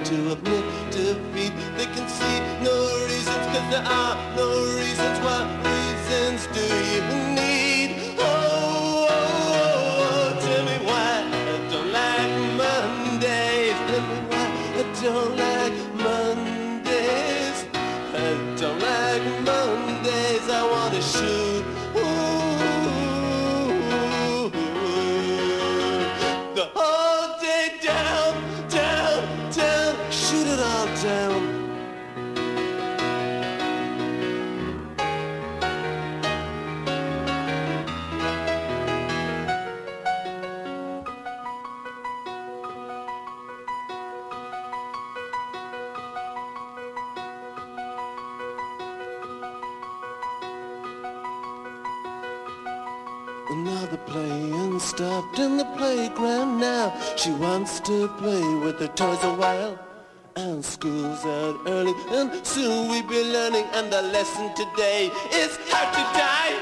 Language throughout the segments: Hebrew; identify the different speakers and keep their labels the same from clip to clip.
Speaker 1: to admit defeat. They can see no reasons, cause there are no reasons. What reasons do you need? Oh, oh, oh, oh, tell me why I don't like Mondays. Tell me why I don't like Mondays. I don't like Mondays. I wanna shoot. The whole day down, down, down, shoot it all down. Another playing stopped in the playground now. She wants to play with her toys a while. And school's out early, and soon we'll be learning. And the lesson today is how to die.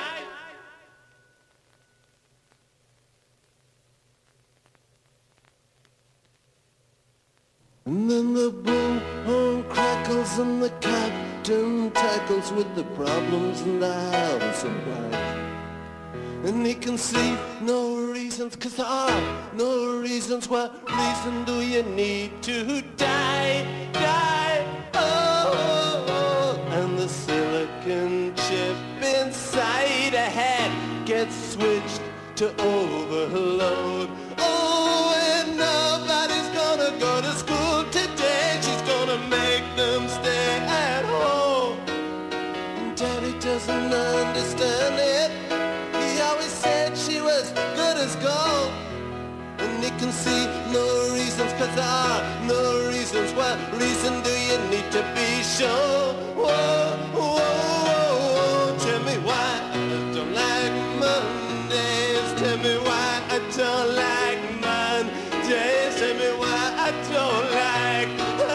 Speaker 1: And then the bullhorn crackles and the captain tackles with the problems in the house of life. And he can see no reasons, cause there are no reasons. What reason do you need to die, die? Oh, oh, oh. And the silicon chip inside a head gets switched to overload. Oh, and nobody's gonna go to school today. She's gonna make them stay at home. And Daddy doesn't understand it. He always said she was good as gold. And he can see no reasons, cause there are no reasons. What reason do you need to be sure? Whoa, whoa, whoa, whoa. Tell me why I don't like Mondays. Tell me why I don't like Mondays. Tell me why I don't like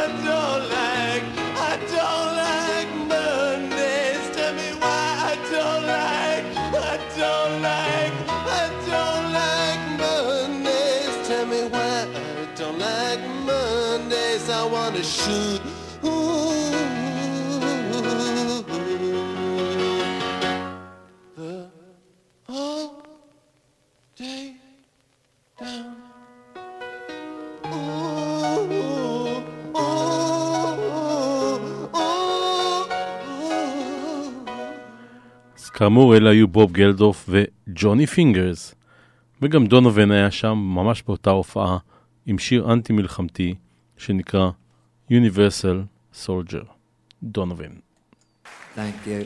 Speaker 1: Mondays. Tell me why I don't like Mondays. Tell me why I don't like Mondays. I wanna shoot. Ooh, the whole day down. Ooh, ooh, ooh, ooh.
Speaker 2: אז כאמור, אלה היו בוב גלדוף וג'וני פינגרס. וגם דונובן היה שם ממש באותה הופעה עם שיר אנטי מלחמתי שנקרא Universal Soldier. דונובן.
Speaker 3: Thank you.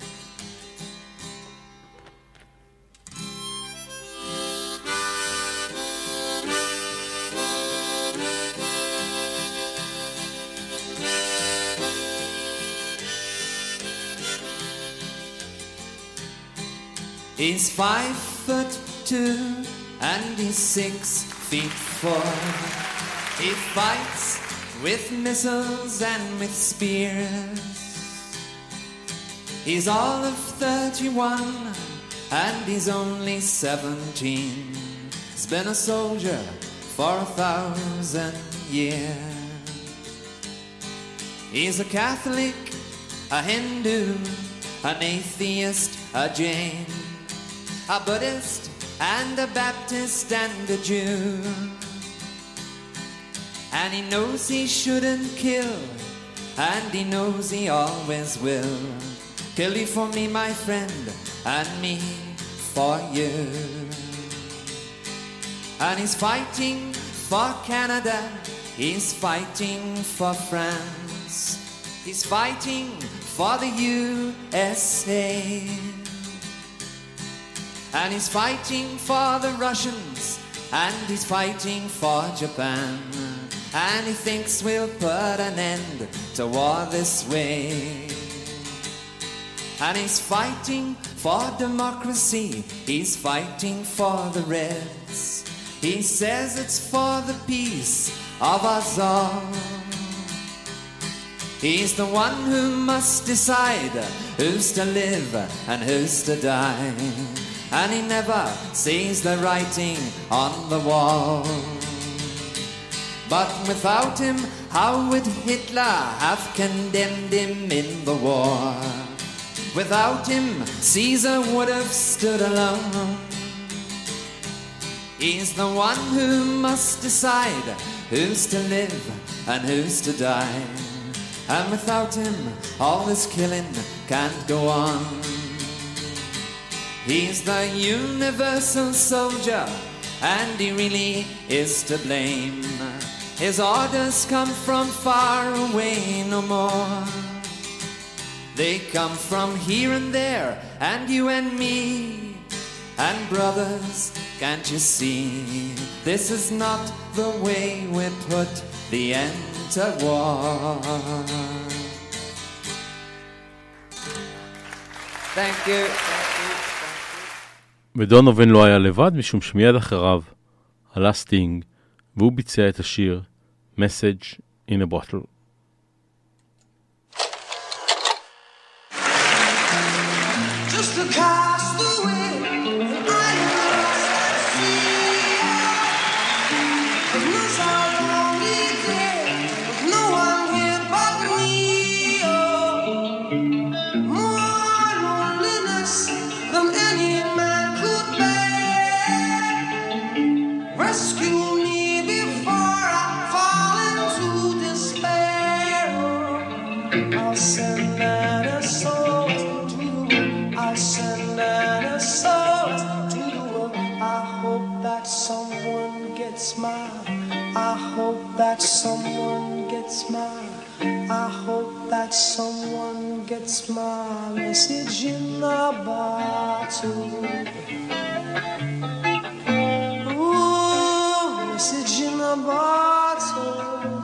Speaker 3: He's 5'2" and he's 6'4". He fights with missiles and with spears. He's all of 31 and he's only 17. He's been a soldier for 1,000 years. He's a Catholic, a Hindu, an atheist, a Jain, a Buddhist and a Baptist and a Jew. And he knows he shouldn't kill, and he knows he always will. Kill you for me, my friend, and me for you. And he's fighting for Canada, he's fighting for France, he's fighting for the USA. And he's fighting for the Russians, and he's fighting for Japan. And he thinks we'll put an end to war this way. And he's fighting for democracy, he's fighting for the Reds. He says it's for the peace of us all. He's the one who must decide who's to live and who's to die. And he never sees the writing on the wall. But without him, how would Hitler have condemned him in the war? Without him, Caesar would have stood alone. He's the one who must decide who's to live and who's to die. And without him, all this killing can't go on. He's the universal soldier, and he really is to blame. His orders come from far away no more. They come from here and there, and you and me. And brothers, can't you see? This is not the way we put the end to war. Thank you.
Speaker 2: ודונובן לא היה לבד, משום שמיד אחריו עלה סטינג, והוא ביצע את השיר Message in a Bottle.
Speaker 4: Just a castaway, I am lost at sea. There's no sound lonely day, there's no one here but me. Oh, more loneliness than any man could bear. Rescue me before I fall into despair. I'll send an SOS to the world. I'll send an SOS to the world. I hope that someone gets mine. I hope that someone gets mine. I hope that someone gets my message in a bottle. Ooh, message in a bottle.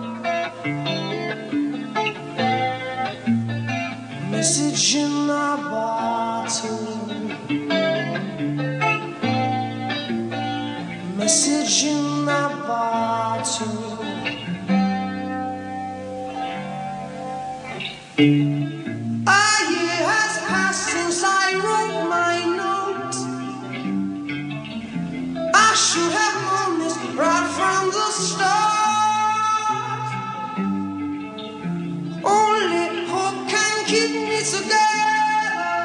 Speaker 4: Message in a bottle. Message in a bottle. A year has passed since I wrote my note. I should have known this right from the start. Only hope can keep me together.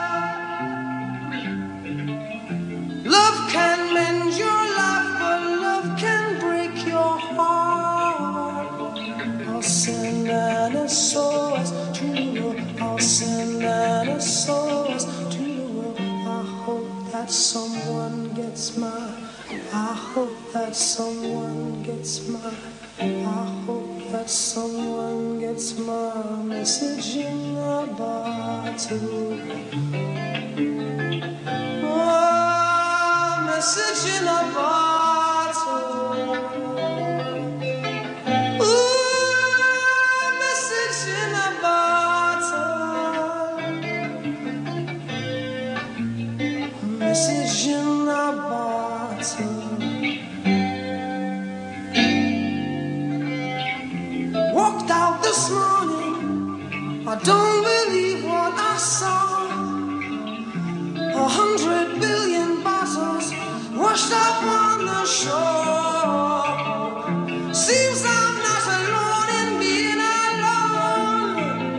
Speaker 4: Love can mend your life, but love can break your heart. I'll send an SOS to the world. I'll send an SOS to the world. I hope that someone gets mine. I hope that someone gets mine. I hope that someone gets my message in a bottle. Oh, message in a bottle. Ooh, message in a bottle. Message in a bottle. Walked out this morning, I don't believe what I saw. 100 billion bottles washed up on the shore. Seems I'm not alone in being alone.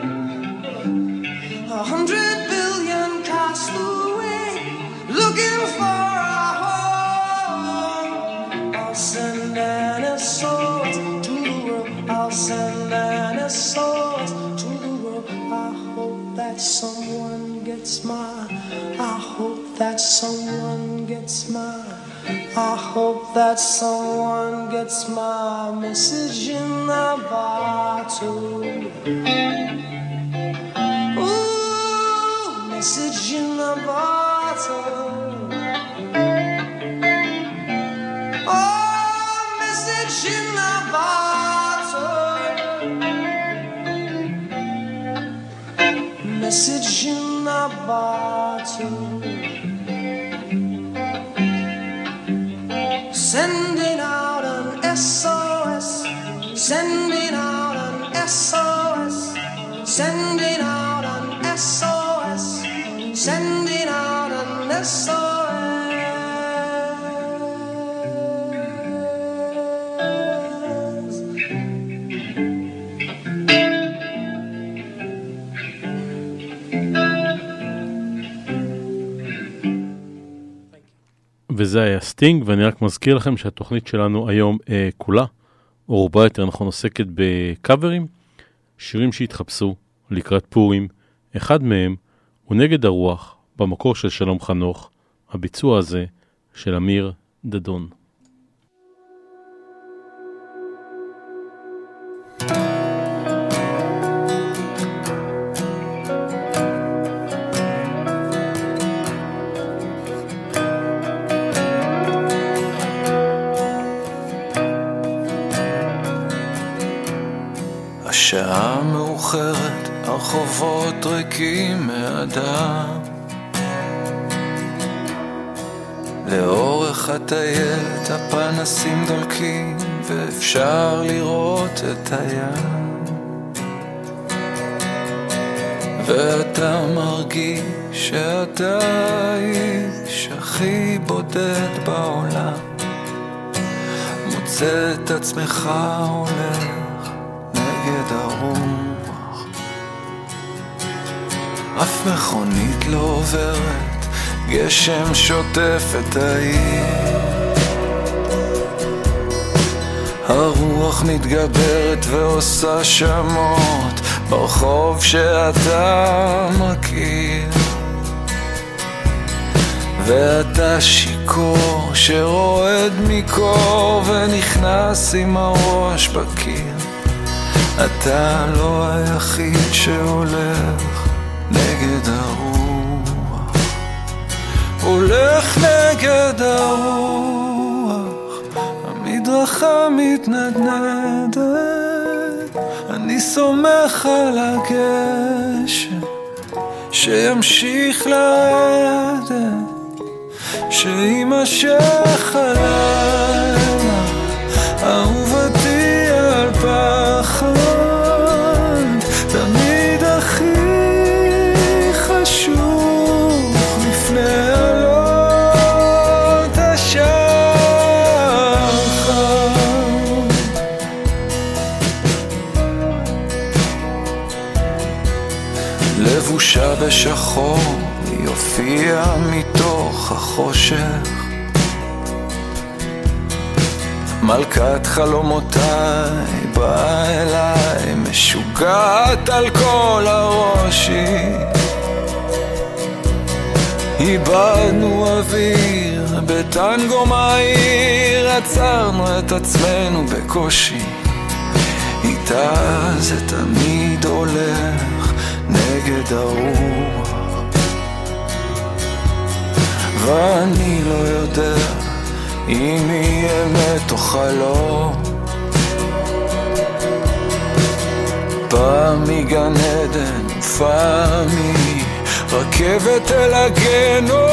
Speaker 4: 100 billion cast away, looking for a home. I'll send an SOS to the world. I'll send an SOS to the world. I hope that someone gets mine. I hope that someone gets mine. I hope that someone gets my message in a bottle. Ooh, message in a bottle. Oh, message in a bottle. Message in a bottle. Sending out an SOS. Sending out an SOS. Sending out an SOS. Sending out an SOS.
Speaker 2: וזה היה סטינג, ואני רק מזכיר לכם שהתוכנית שלנו היום כולה, או רובה יותר נכון, עוסקת בקאברים, שירים שהתחפשו לקראת פורים. אחד מהם הוא נגד הרוח, במקור של שלום חנוך, הביצוע הזה של אמיר דדון.
Speaker 5: השעה מאוחרת, הרחובות ריקים מאדם, לאורך הטיילת הפנסים דולקים ואפשר לראות את הים, ואתה מרגיש שאתה האיש הכי בודד בעולם, מוצא את עצמך הולך נגד הרוח, אף מכונית לא עוברת, גשם שוטף את העיר, הרוח מתגברת ועושה שמות ברחוב שאתה מכיר, ואתה שיקור שרועד מקור ונכנס עם הראש בקיר, אתה לא היחיד שהולך נגד הרוח, הולך נגד הרוח, המדרכה מתנדנדת, אני סומך על הגשם שימשיך לרדת, שימשך הלילה, אהובתי על פחד, תמיד הכי חשוב לפני עלות השחר, לבושה בשחור היא הופיעה מתוך החושך, מלכת חלומותיי באה אליי משוגעת על כל הראשי, איבדנו אוויר בטנגו מהיר, עצרנו את עצמנו בקושי, איתה זה תמיד הולך נגד הרוח, ואני לא יודע אם יהיה אמת או חלום, פעם מגן עדן ופעם רכבת אל הגיהנום,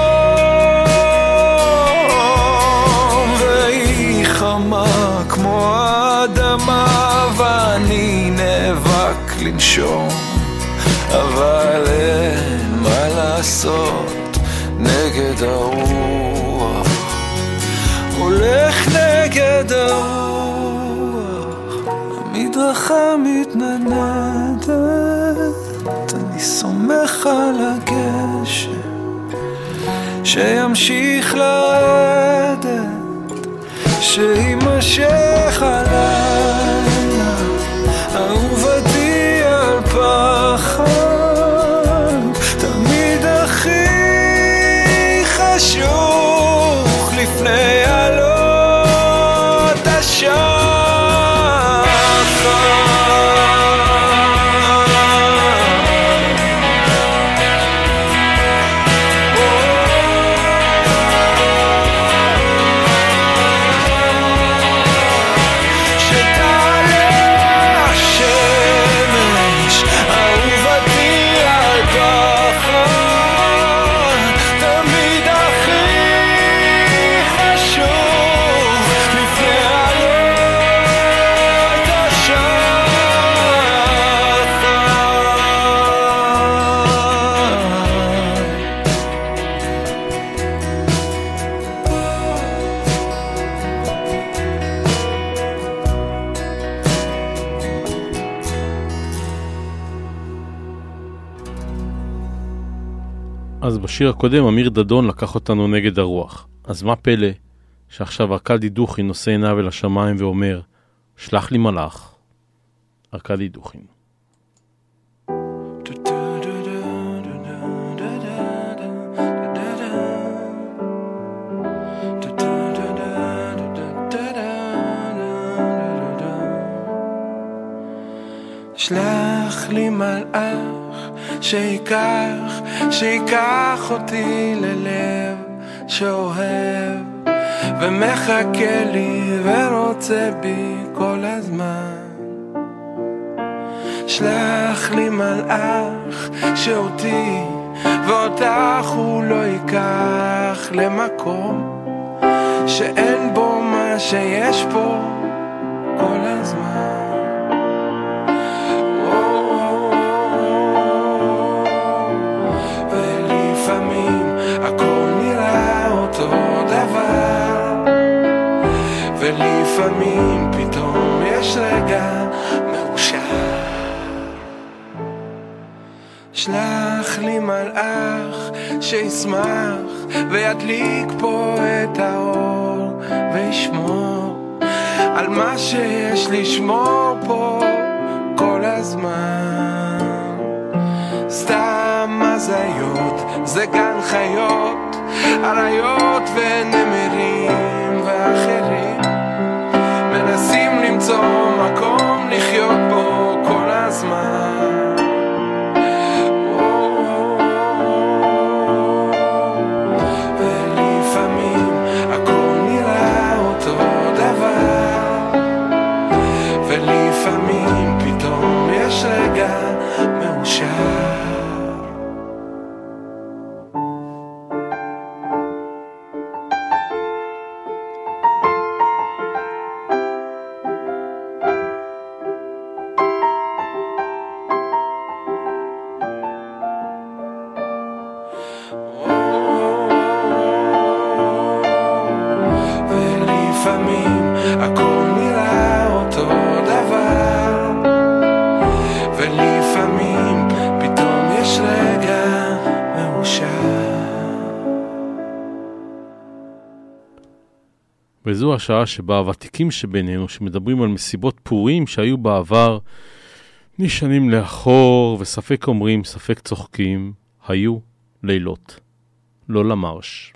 Speaker 5: והיא חמה כמו האדמה ואני נאבק לנשום, אבל אין מה לעשות נגד הרוח, הולך נגד הרוח, המדרכה מתנדנדת, אני סומך על הגשם שימשיך לרדת, שימשך הלילה, אהובתי על פחד, תמיד הכי חשוך לפני עלות השחר.
Speaker 2: אז בשיר הקודם אמיר דדון לקח אותנו נגד הרוח. אז מה פלא שעכשיו ארקדי דוכין נושא עיניו אל השמיים ואומר, שלח לי מלאך. ארקדי דוכין.
Speaker 5: שלח לי מלאך שיקח אותי ללב שאוהב ומחכה לי ורוצה בי כל הזמן. שלח לי מלאך שאותי ואותך הוא לא ייקח למקום שאין בו מה שיש פה כל הזמן. ולפעמים פתאום יש רגע מאושר. שלח לי מלאך שישמח וידליק פה את האור וישמור על מה שיש לשמור פה כל הזמן. סתם הזיות, זה גן חיות, אריות ונמרים ואחרים מנסים למצוא מקום לחיות בו כל הזמן. ולפעמים הכל נראה אותו דבר, ולפעמים פתאום יש רגע מאושר. ולפעמים הכל נראה אותו דבר, ולפעמים פתאום יש רגע מאושר.
Speaker 2: וזו השעה שבה הוותיקים שבינינו שמדברים על מסיבות פורים שהיו בעבר נשענים לאחור וספק אומרים ספק צוחקים, היו לילות, לא למרש.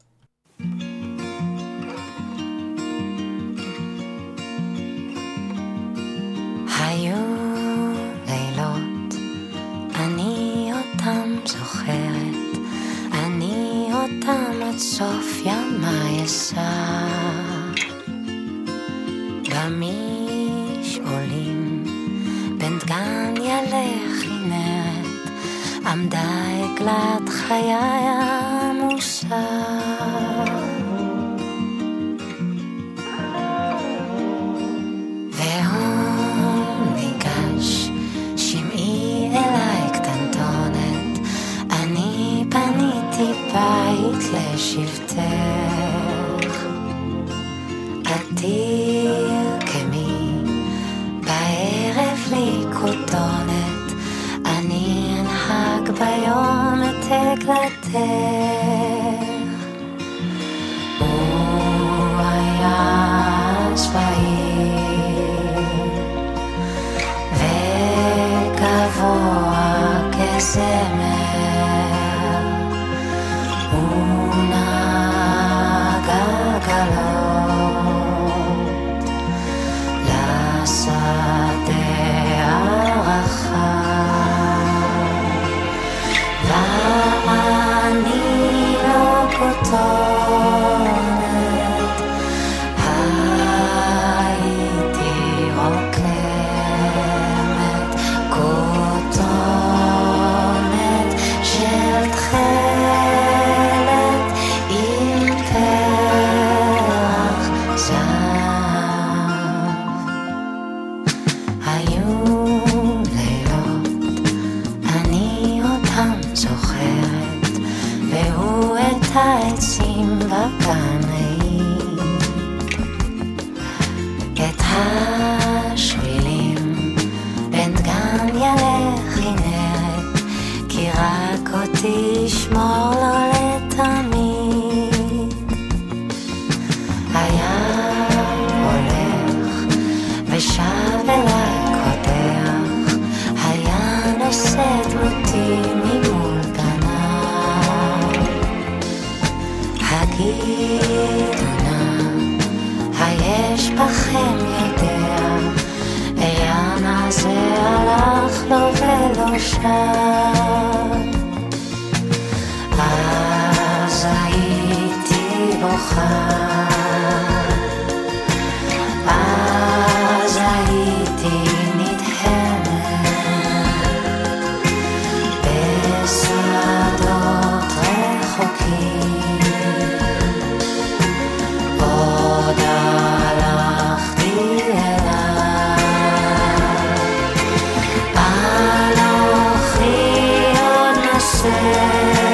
Speaker 6: היו לילות, אני אותם זוכרת, אני אותם עד סוף ימי אשא. במשעולים בין דגן ילך כנרת, עמדה עגלת חיי עמוסה. בית לשבטך, עתיר כמי בערב לי כותונת, אני אנהג ביום את עגלתך. הוא היה שבעיר וגבוה כזמר, תשמור לו לתמיד. ושב אליי קודח, היה נושא דמותי ממול גנב. הגידו נא, היש בכם יודע, העין הזה הלך לו ולא שב. אז הייתי בוכה, אז הייתי נדהמת בשדות רחוקים, עוד הלכתי אליו, אנוכי עוד נושא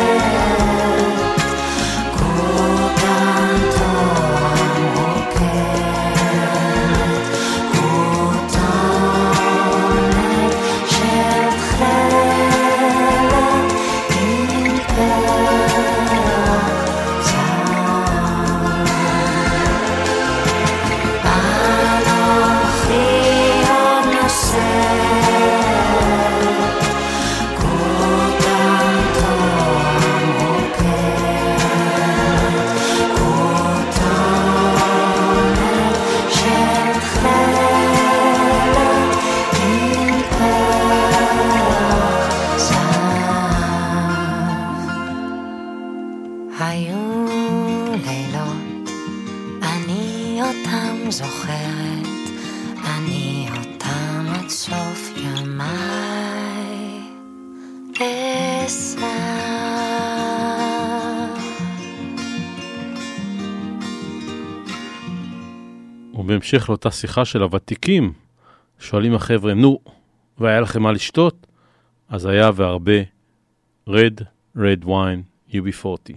Speaker 2: ובהמשך לאותה שיחה של הוותיקים, שואלים החבר'ה, נו, והיה לכם מה לשתות? אז היה והרבה red wine UB40.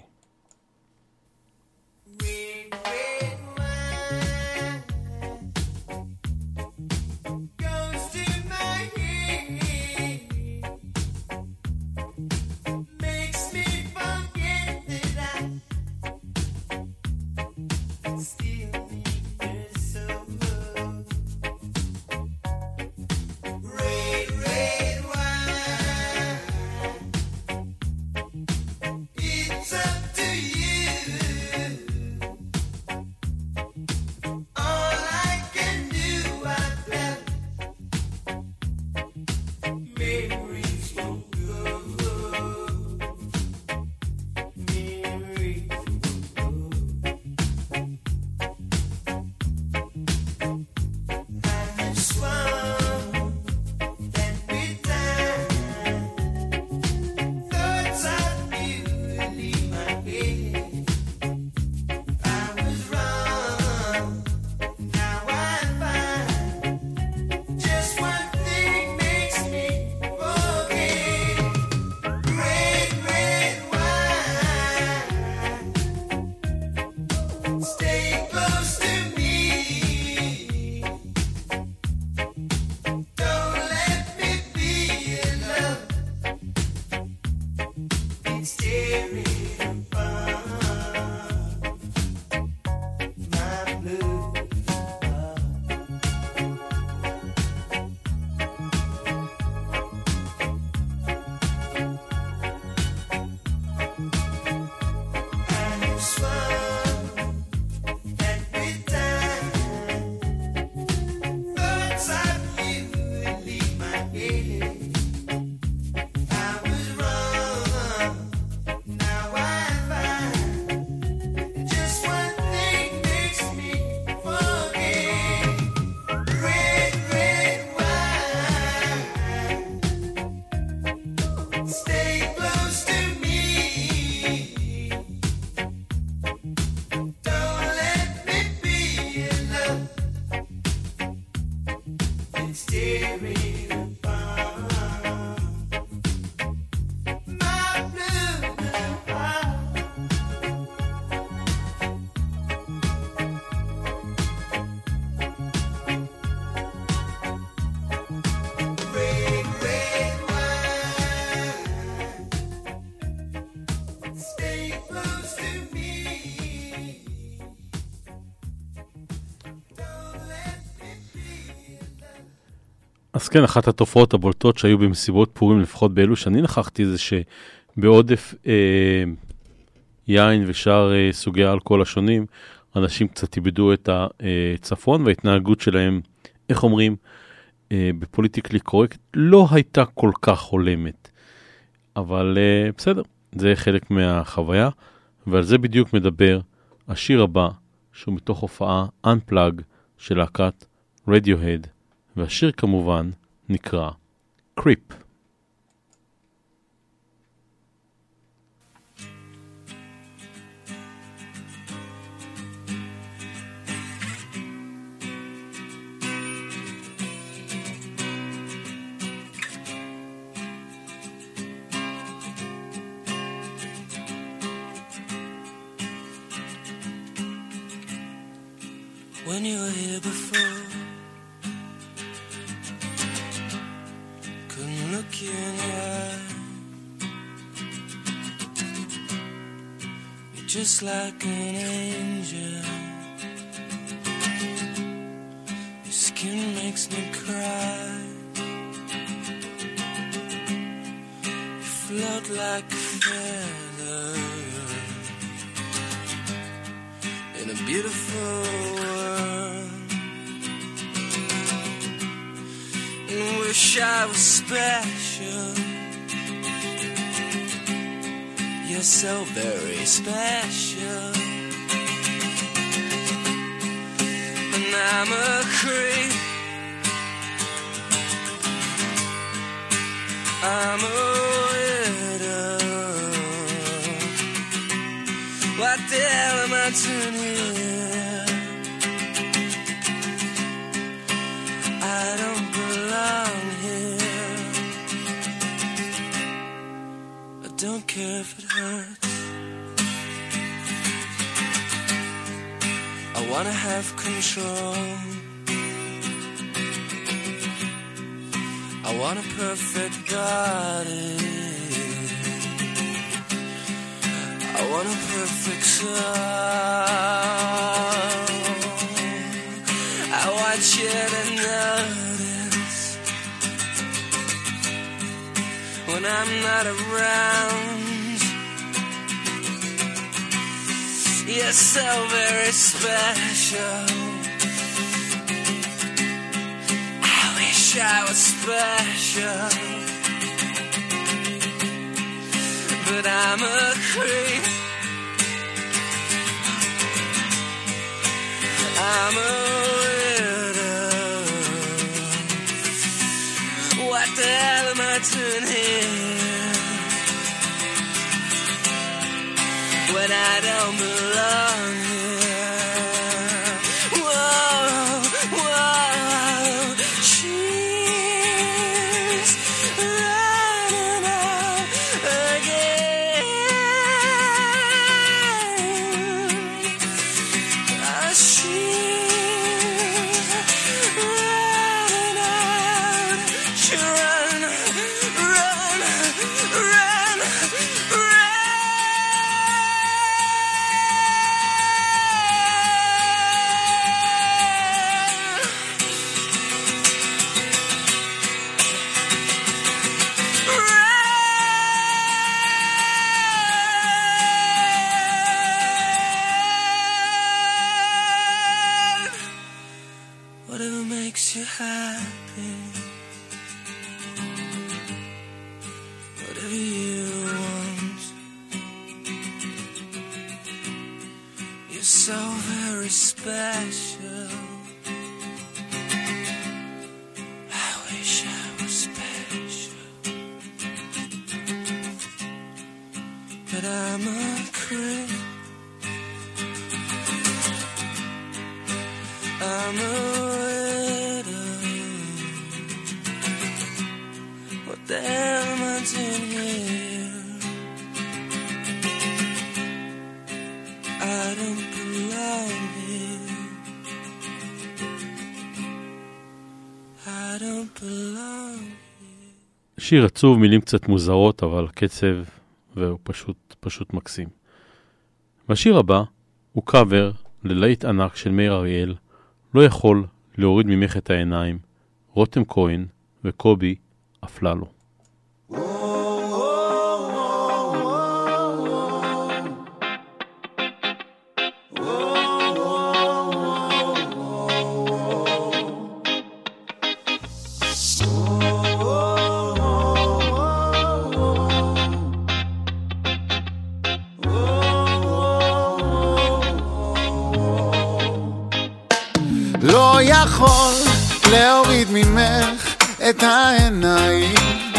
Speaker 2: אז כן, אחת התופעות הבולטות שהיו במסיבות פורים, לפחות באלו שאני נכחתי, זה שבעודף יין ושאר סוגי האלכוהול השונים, אנשים קצת איבדו את הצפון, וההתנהגות שלהם, איך אומרים, בפוליטיקלי קורקט, לא הייתה כל כך הולמת. אבל בסדר, זה חלק מהחוויה, ועל זה בדיוק מדבר השיר הבא, שהוא מתוך הופעה Unplug של להקת Radiohead, והשיר כמובן נקרא Creep.
Speaker 5: When you were here before, couldn't look you in the eye. You're just like an angel. Your skin makes me cry. You float like a feather in a beautiful world. And wish I was special. You're so very special. And I'm a creep. I'm a widow. What the hell am I doing here? I don't belong here. I don't care if it hurts. I wanna have control. I want a perfect body. I want a perfect soul. I want you to notice when I'm not around. You're so very special. I wish I was special, but I'm a creep. I'm a widow. What the hell am I doing here when I don't belong here? Whoa, whoa, she's running out again. Whatever makes you happy, whatever you want. You're so very special. I wish I was special, but I'm a creep. I'm a widow. What the hell am I doing here? I don't belong here. I don't belong here.
Speaker 2: שיר עצוב, מילים קצת מוזרות, אבל קצב והוא פשוט מקסים. והשיר הבא הוא קאבר ללהיט ענק של מאיר אריאל, לא יכול להוריד ממך את העיניים, רותם כהן וקובי אפללו.
Speaker 7: לא יכול להוריד ממך את העיניים,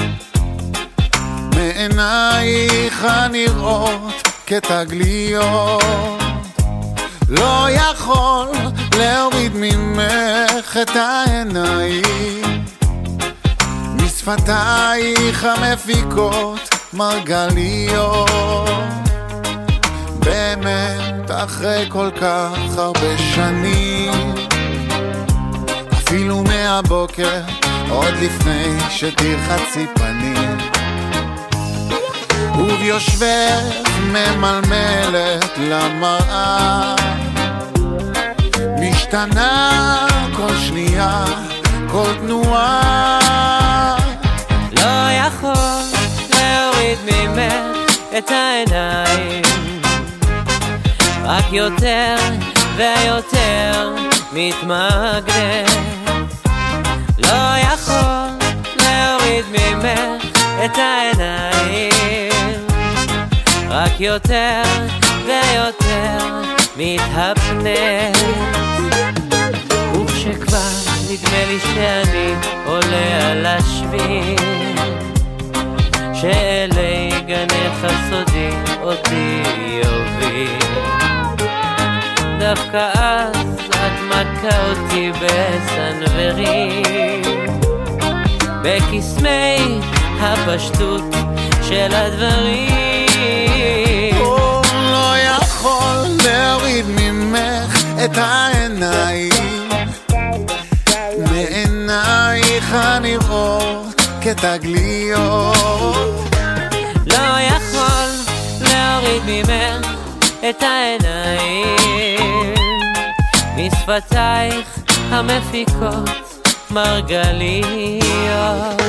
Speaker 7: מעינייך הנראות כתגליות. לא יכול להוריד ממך את העיניים, משפתייך המפיקות מרגליות. באמת אחרי כל כך הרבה שנים, אפילו מהבוקר, עוד לפני שתרחצי פנים, וביושבך ממלמלת למראה, משתנה כל שנייה, כל תנועה.
Speaker 3: לא יכול להוריד ממך את העיניים, רק יותר ויותר מתמגנת. לא יכול להוריד ממך את העיניים, רק יותר ויותר מתהפנת. וכשכבר נדמה לי שאני עולה על השביל, שאלי גנך הסודי אותי יוביל, דווקא אז את מכה אותי בסנוורים, בקסמי הפשטות של הדברים.
Speaker 7: לא יכול להוריד ממך את העיניים, מעינייך הנראות כתגליות.
Speaker 3: לא יכול להוריד ממך את העיניים, משפתייך המפיקות מרגליות.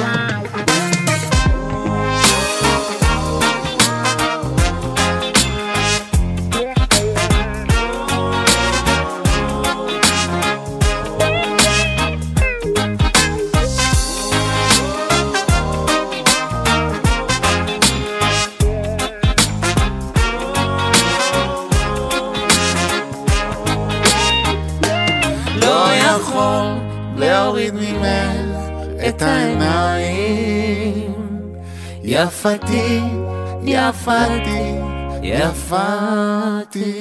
Speaker 7: להוריד ממך את העיניים, יפתי, יפתי, יפתי.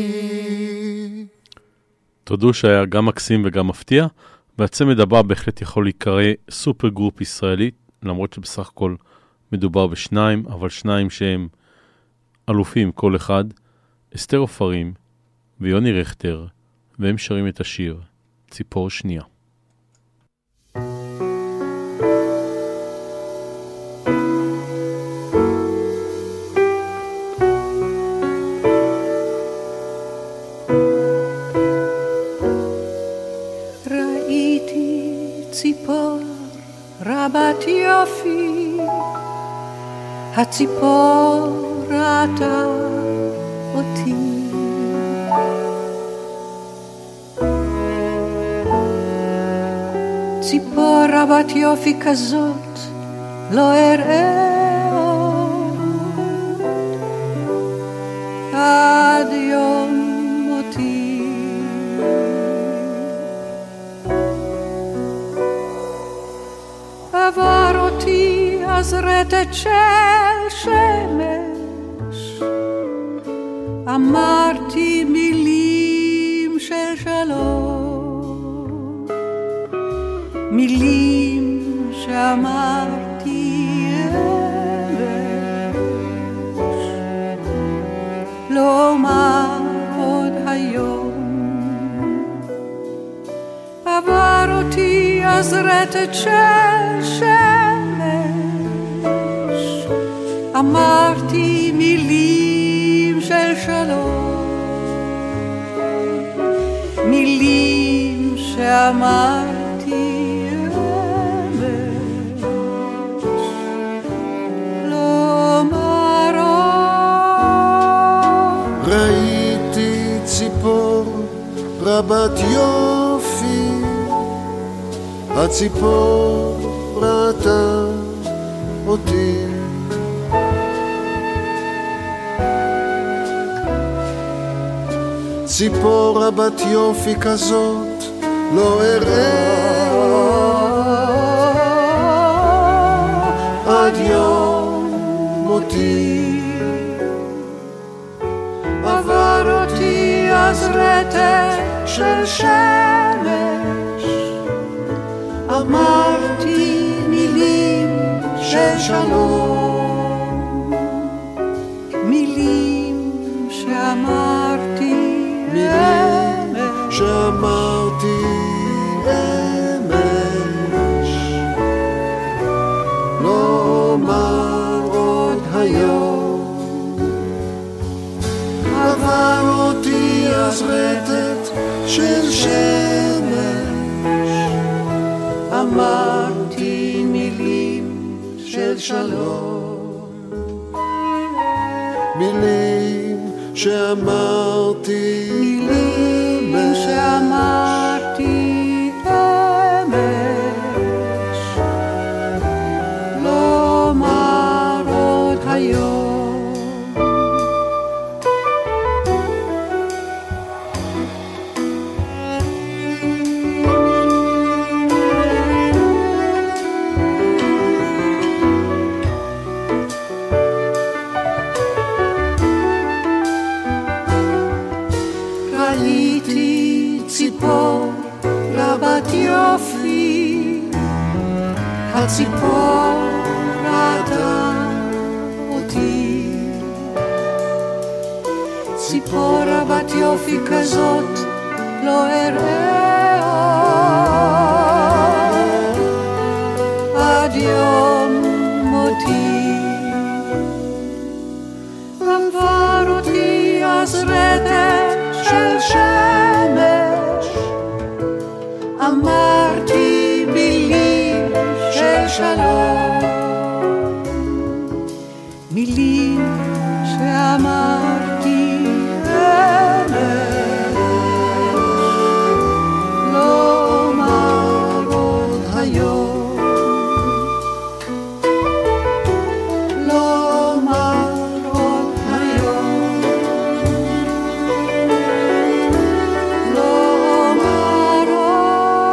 Speaker 2: תודו שהיה גם מקסים וגם מפתיע, והצמד הבא בהחלט יכול להיקרא סופר גרופ ישראלית, למרות שבסך הכל מדובר בשניים, אבל שניים שהם אלופים כל אחד, אסתר עופרים ויוני רכטר, והם שרים את השיר ציפור שנייה.
Speaker 8: ראיתי ציפור רבת יופי, הציפור ראתה אותי, ציפור רבת יופי כזאת לא אראה עוד עד יום מותי. עבר אותי אז רטט של שמש, אמרתי מילים של שלום, מילים שאמרתי אמש, לא אומר עוד היום. עבר אותי אז רטט של שמש, אמרתי מילים של שלום, מילים שאמרתי אמש,
Speaker 7: הציפור ראתה אותי. ציפור רבת יופי כזאת לא אראה עד יום מותי.
Speaker 8: עבר אותי אז רטט של שמש, אמרתי מילים של שלום, מילים שאמרתי אמש,
Speaker 7: שאמרתי אמש, לא אומר עוד היום. עבר אותי אז רטט של שמש,
Speaker 8: אמרתי מילים של שלום,
Speaker 7: מילים שאמרתי
Speaker 8: מילים שאמרתי אמש, לא אומר עוד היום. הציפור ראתה אותי, ציפור רבת יופי כזאת לא אראה עד יום מותי. עבר אותי אז רטט של שמש, אמרתי מילים של שלום, מילים שאמרתי אמש, לא אומר עוד היום, לא אומר עוד היום, לא אומר עוד.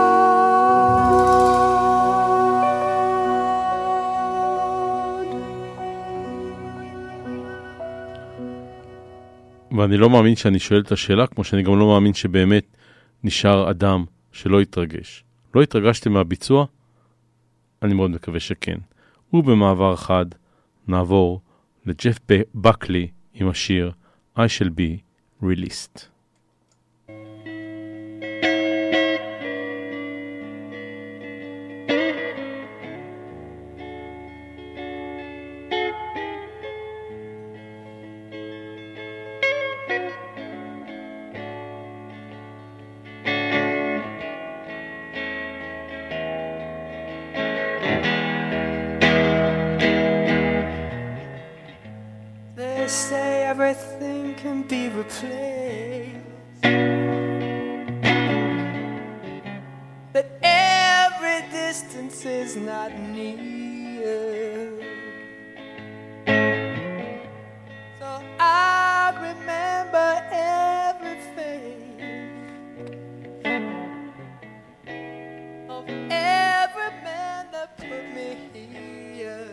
Speaker 2: ואני לא מאמין שאני שואל את השאלה, כמו שאני גם לא מאמין שבאמת נשאר אדם שלא יתרגש. לא התרגשתם מהביצוע? אני מאוד מקווה שכן. ובמעבר חד נעבור לג'ף בקלי עם השיר I shall be released.
Speaker 5: They say everything can be replaced, that every distance is not near. So I remember everything of every man that put me here.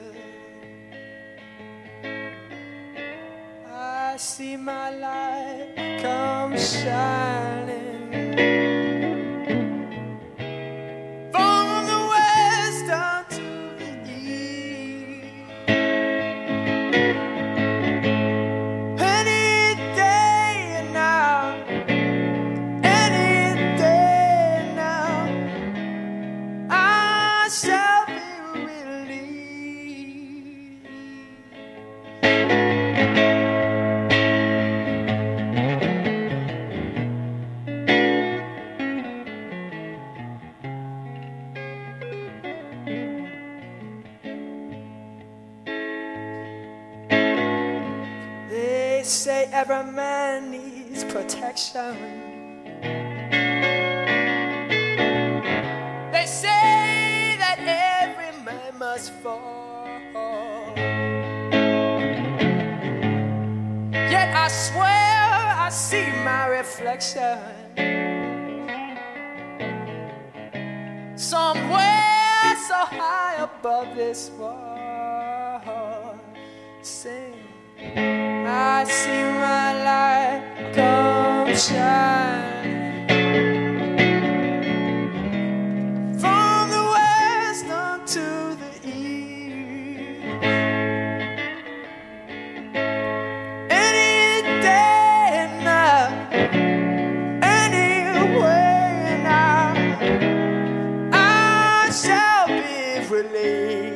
Speaker 5: I see my light come shining from the west down to the east. Any day now, any day now, I shall be released. They say every man needs protection. They say
Speaker 4: must fall. Yet I swear I see my reflection somewhere so high above this world. Sing, I see my light come shine from the west unto the east. Any day now, anyway now, I shall be relieved.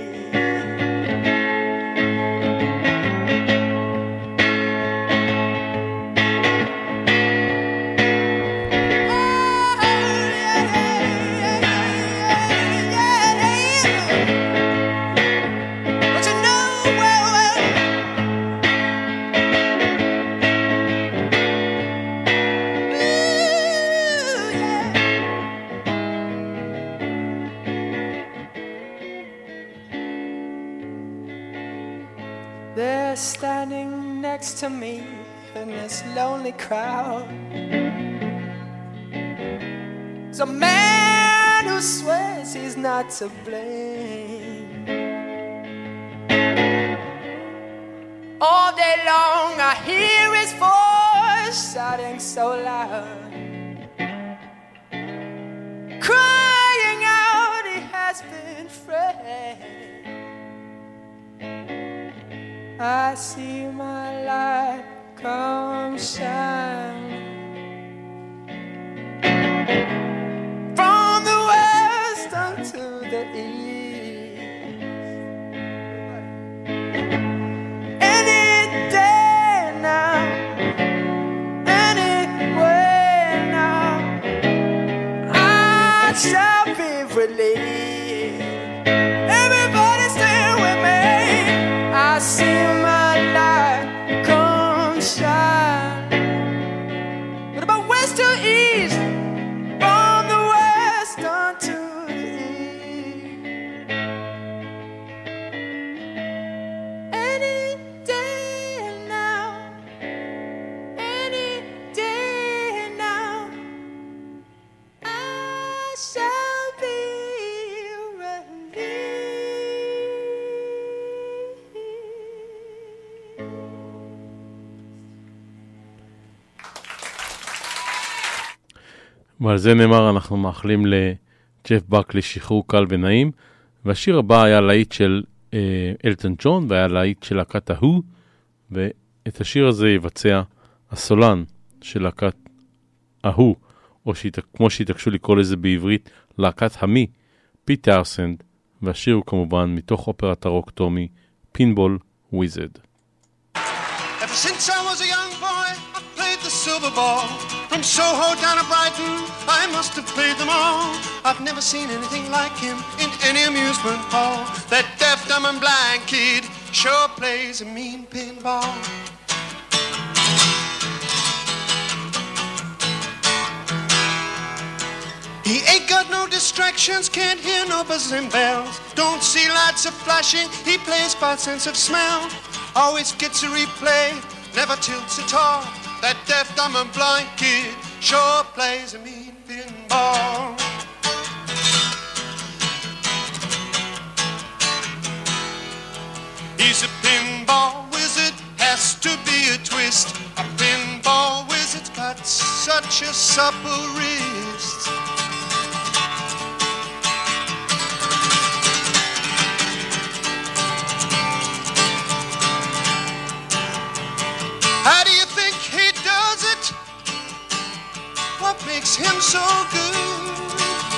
Speaker 4: They're standing next to me in this lonely crowd. There's a man who swears he's not to blame. All day long I hear his voice shouting so loud, crying out he has been framed. I see my light come shine from the west unto the east. Any day now, anywhere now, I shall be relieved. Everybody stand with me. I see my light come shine. What about west to east? From the west unto the east. Any day now, any day now, I shall be relieved.
Speaker 2: ועל זה נאמר, אנחנו מאחלים לג'ף בקלי שחרור קל ונעים, והשיר הבא היה להיט של אלטון ג'ון, והיה להיט של להקת ההוא, ואת השיר הזה יבצע הסולן של להקת ההוא, או כמו שהתעקשו לקרוא לזה בעברית, להקת המי, פיט טאורסנד, והשיר הוא כמובן מתוך אופרת הרוק טומי, פינבול וויזרד.
Speaker 9: Ever since I was a young boy, I played the silver ball. From Soho down to Brighton, I must have played them all. I've never seen anything like him in any amusement hall. That deaf, dumb and blind kid sure plays a mean pinball. He ain't got no distractions, can't hear no buzzers and bells. Don't see lights are flashing, he plays by sense of smell. Always gets a replay, never tilts at all. That deaf, dumb and blind kid sure plays a mean pinball. He's a pinball wizard, has to be a twist. A pinball wizard's got such a supple wrist. How do you think he does it? What makes him so good?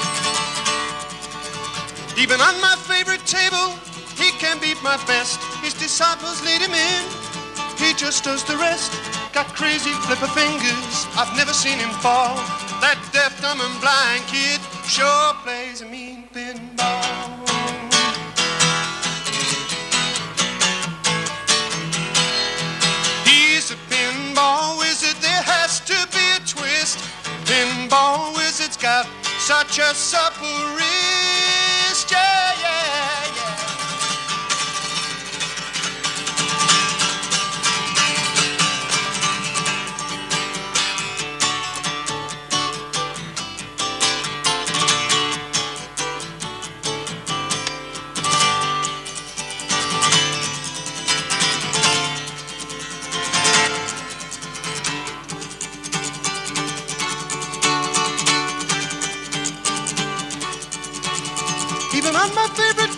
Speaker 9: Even on my favorite table, he can beat my best. His disciples lead him in, he just does the rest. Got crazy flipper fingers, I've never seen him fall. That deaf, dumb and blind kid sure plays a mean pinball. He's a pinball wizard, there has to be a twist. Pinball wizard's got such a supple wrist, yeah, yeah, yeah.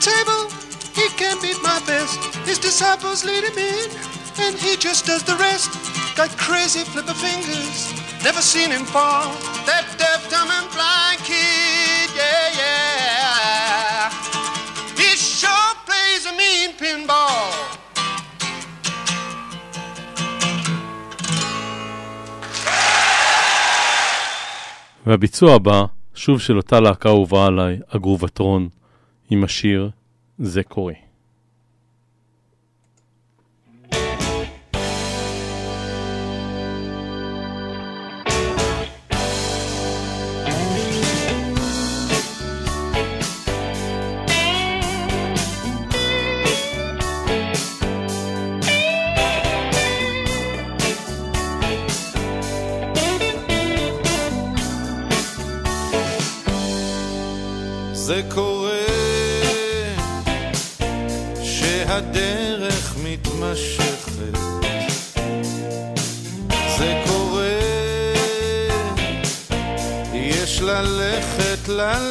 Speaker 9: table, he can't beat my best. His disciples lead him in, and he just does the rest. Got crazy flipper fingers, never seen him fall. That deaf, dumb, and blind kid, yeah, yeah. He sure plays a mean pinball.
Speaker 2: והביצוע הבא, שוב של אותה להקה אהובה עליי, הגרובטרון, עם השיר זה קורה.
Speaker 10: זה קורה שהדרך מתמשכת, זה קורה, יש ללכת,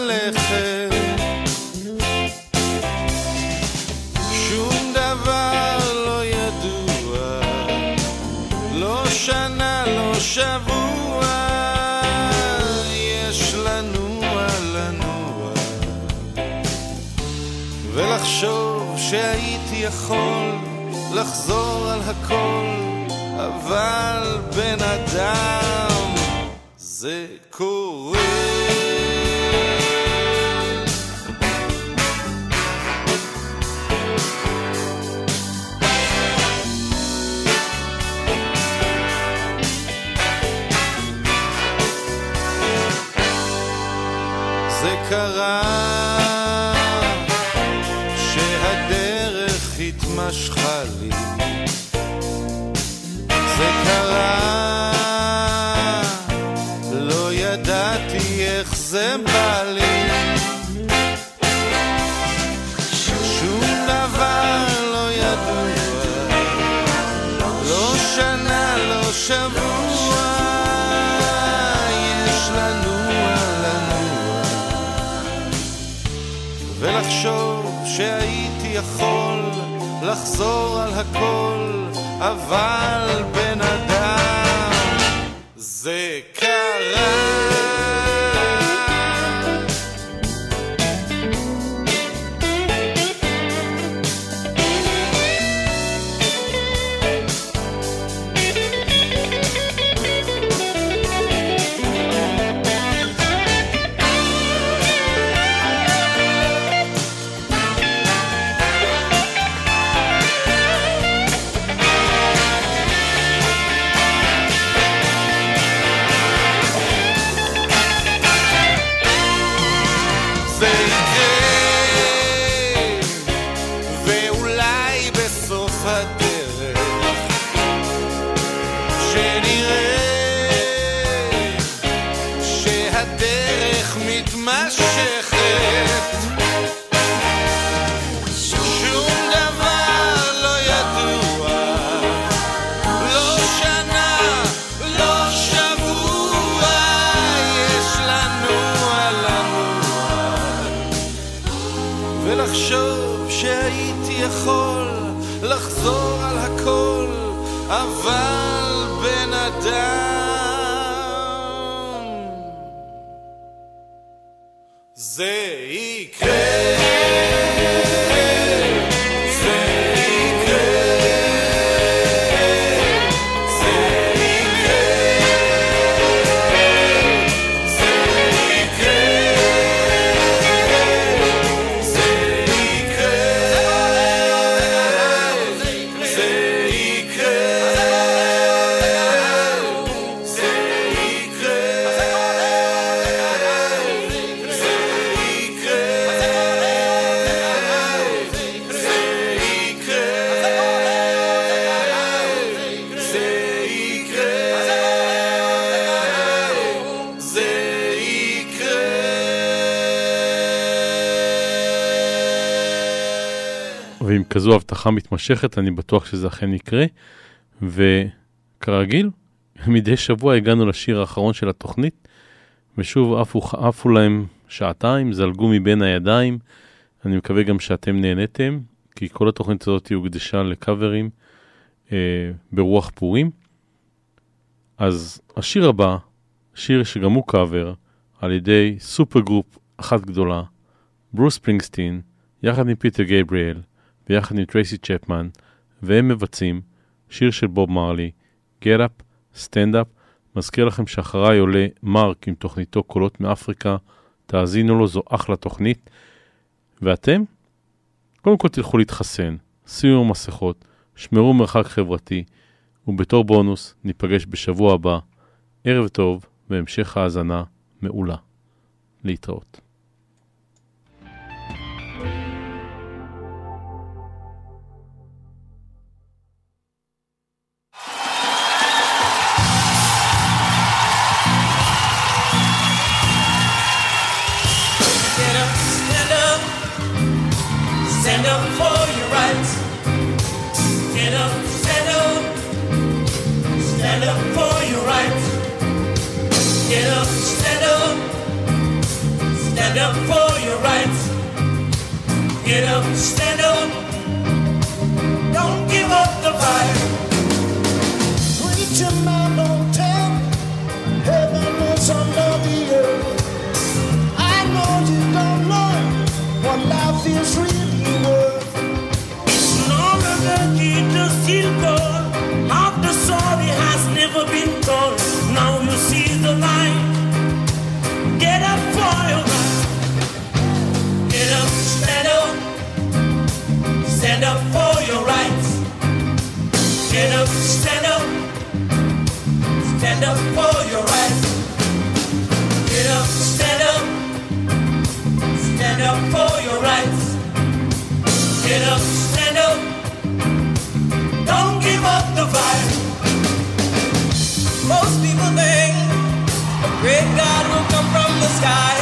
Speaker 10: שום דבר לא ידוע, לא שנה, לא שבוע, יש לנוע, ולחשוב שהייתי יכול לחזור על הכל, אבל בן אדם זה קורה. זה קרה משכה לי, זה קרה, לא ידעתי איך זה בא לי, שום דבר לא ידוע, לא שנה, לא שבוע, יש לנוע, ולחשוב שהייתי יכול לחזור על הכל, אבל בן אדם זה קרה. לחזור על הכל, אבל בן אדם זה יקרה.
Speaker 2: ועם כזו הבטחה מתמשכת, אני בטוח שזה אכן יקרה. וכרגיל, מדי שבוע הגענו לשיר האחרון של התוכנית, ושוב עפו להם שעתיים, זלגו מבין הידיים, אני מקווה גם שאתם נהניתם, כי כל התוכנית הזאת הוקדשה לקאברים ברוח פורים. אז השיר הבא, שיר שגם הוא קאבר, על ידי סופר גרופ אחת גדולה, ברוס ספרינגסטין, יחד עם פיטר גייבריאל, ויחד עם טרייסי צ'פמן, והם מבצעים שיר של בוב מרלי, Get Up, Stand Up. מזכיר לכם שאחריי עולה מרק עם תוכניתו קולות מאפריקה, תאזינו לו, זו אחלה תוכנית. ואתם? קודם כל תלכו להתחסן, שימו מסכות, שמרו מרחק חברתי, ובתור בונוס ניפגש בשבוע הבא. ערב טוב והמשך האזנה מעולה. להתראות.
Speaker 11: Stand up for your rights. Get up, stand up. Stand up for your rights. Get up, stand up. Stand up for your rights. Get up, stand up. Don't give up the fight.
Speaker 4: Preacher man, don't tell me heaven is under the earth. I know you don't know what life is really.
Speaker 11: Half the story has never been told. Now you see the light. Get up for your right. Get up, stand up. Stand up for your rights. Get up, stand up. Stand up for your rights. Get up, stand up. Stand up for your rights. Get up, stand up. Don't give up the fight. Most people think a great God will come from the sky,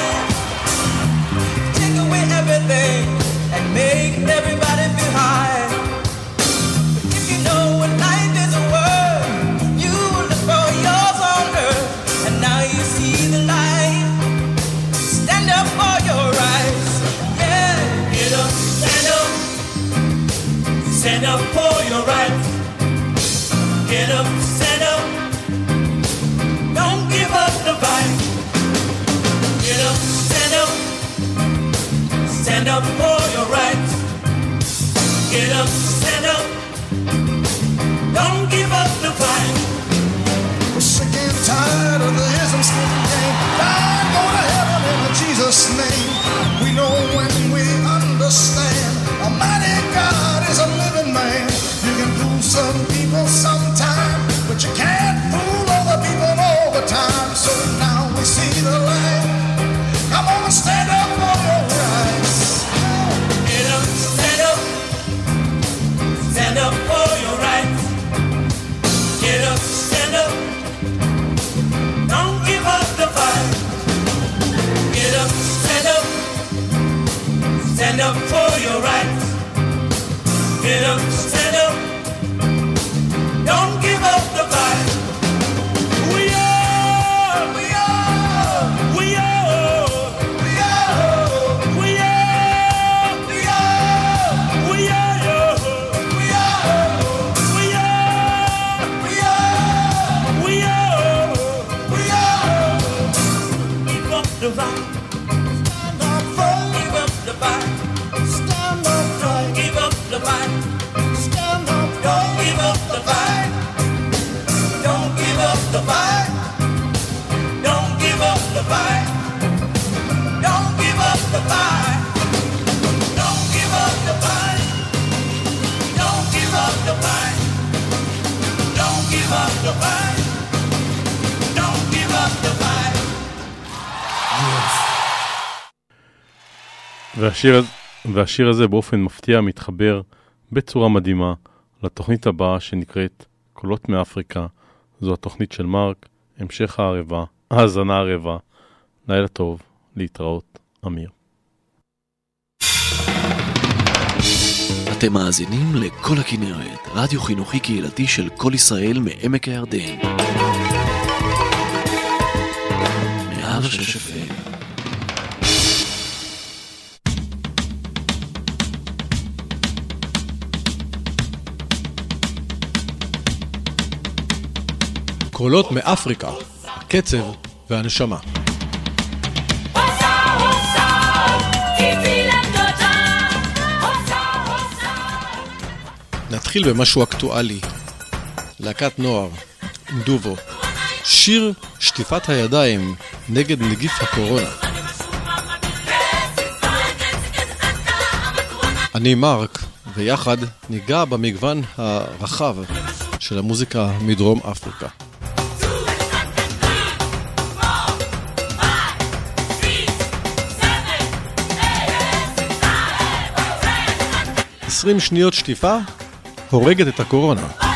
Speaker 11: take away everything and make everybody feel high. But if you know what life is worth, you will look for yours on earth. And now you see the light. Stand up for your rights. Yeah, get up, stand up. Stand up for your rights. Get up, stand up. Don't give up the fight. Get up, stand up. Stand up for your rights. Get up, stand up. Don't give up the fight.
Speaker 4: We're sick and tired of the ism scheme game. I go to heaven in Jesus' name. We know when we understand a mighty God is a living man. You can fool some people sometime, but you can't fool other people all the time. So now we see the light. Come on, stand up for your rights.
Speaker 11: Get up, stand up. Stand up for your rights. Get up, stand up. Don't give up the fight. Get up, stand up. Stand up for your rights. Get up, stand up. Don't give up the fight. We are, we are, we are, we are, we are, we are, we are, we are, we are, we are, we are, we are. Give up the fight. Stand up for. Give up the fight.
Speaker 4: Stand up for.
Speaker 11: Give up the fight.
Speaker 4: Stand up.
Speaker 11: Don't give up the fight. Don't give up the fight. Don't give up the fight. Don't give up the fight. Don't give up the fight. Don't give up the fight. Don't give up the fight. Don't give up the fight.
Speaker 2: והשיר הזה באופן מפתיע מתחבר בצורה מדהימה לתוכנית הבאה שנקראת קולות מאפריקה. זו התוכנית של מרק, המשך הערבה, האזנה הערבה. לילה טוב, להתראות, אמיר.
Speaker 12: אתם מאזינים לכל הכנרת, רדיו חינוכי קהילתי של כל ישראל מעמק הירדן. 106 FM.
Speaker 13: קולות מאפריקה, הקצב והנשמה. נתחיל במשהו אקטואלי. להקת נוער, דובו. שיר שטיפת הידיים נגד נגיף הקורונה. אני מרק, ויחד ניגע במגוון הרחב של המוזיקה מדרום אפריקה. 20 שניות שטיפה הורגת את הקורונה.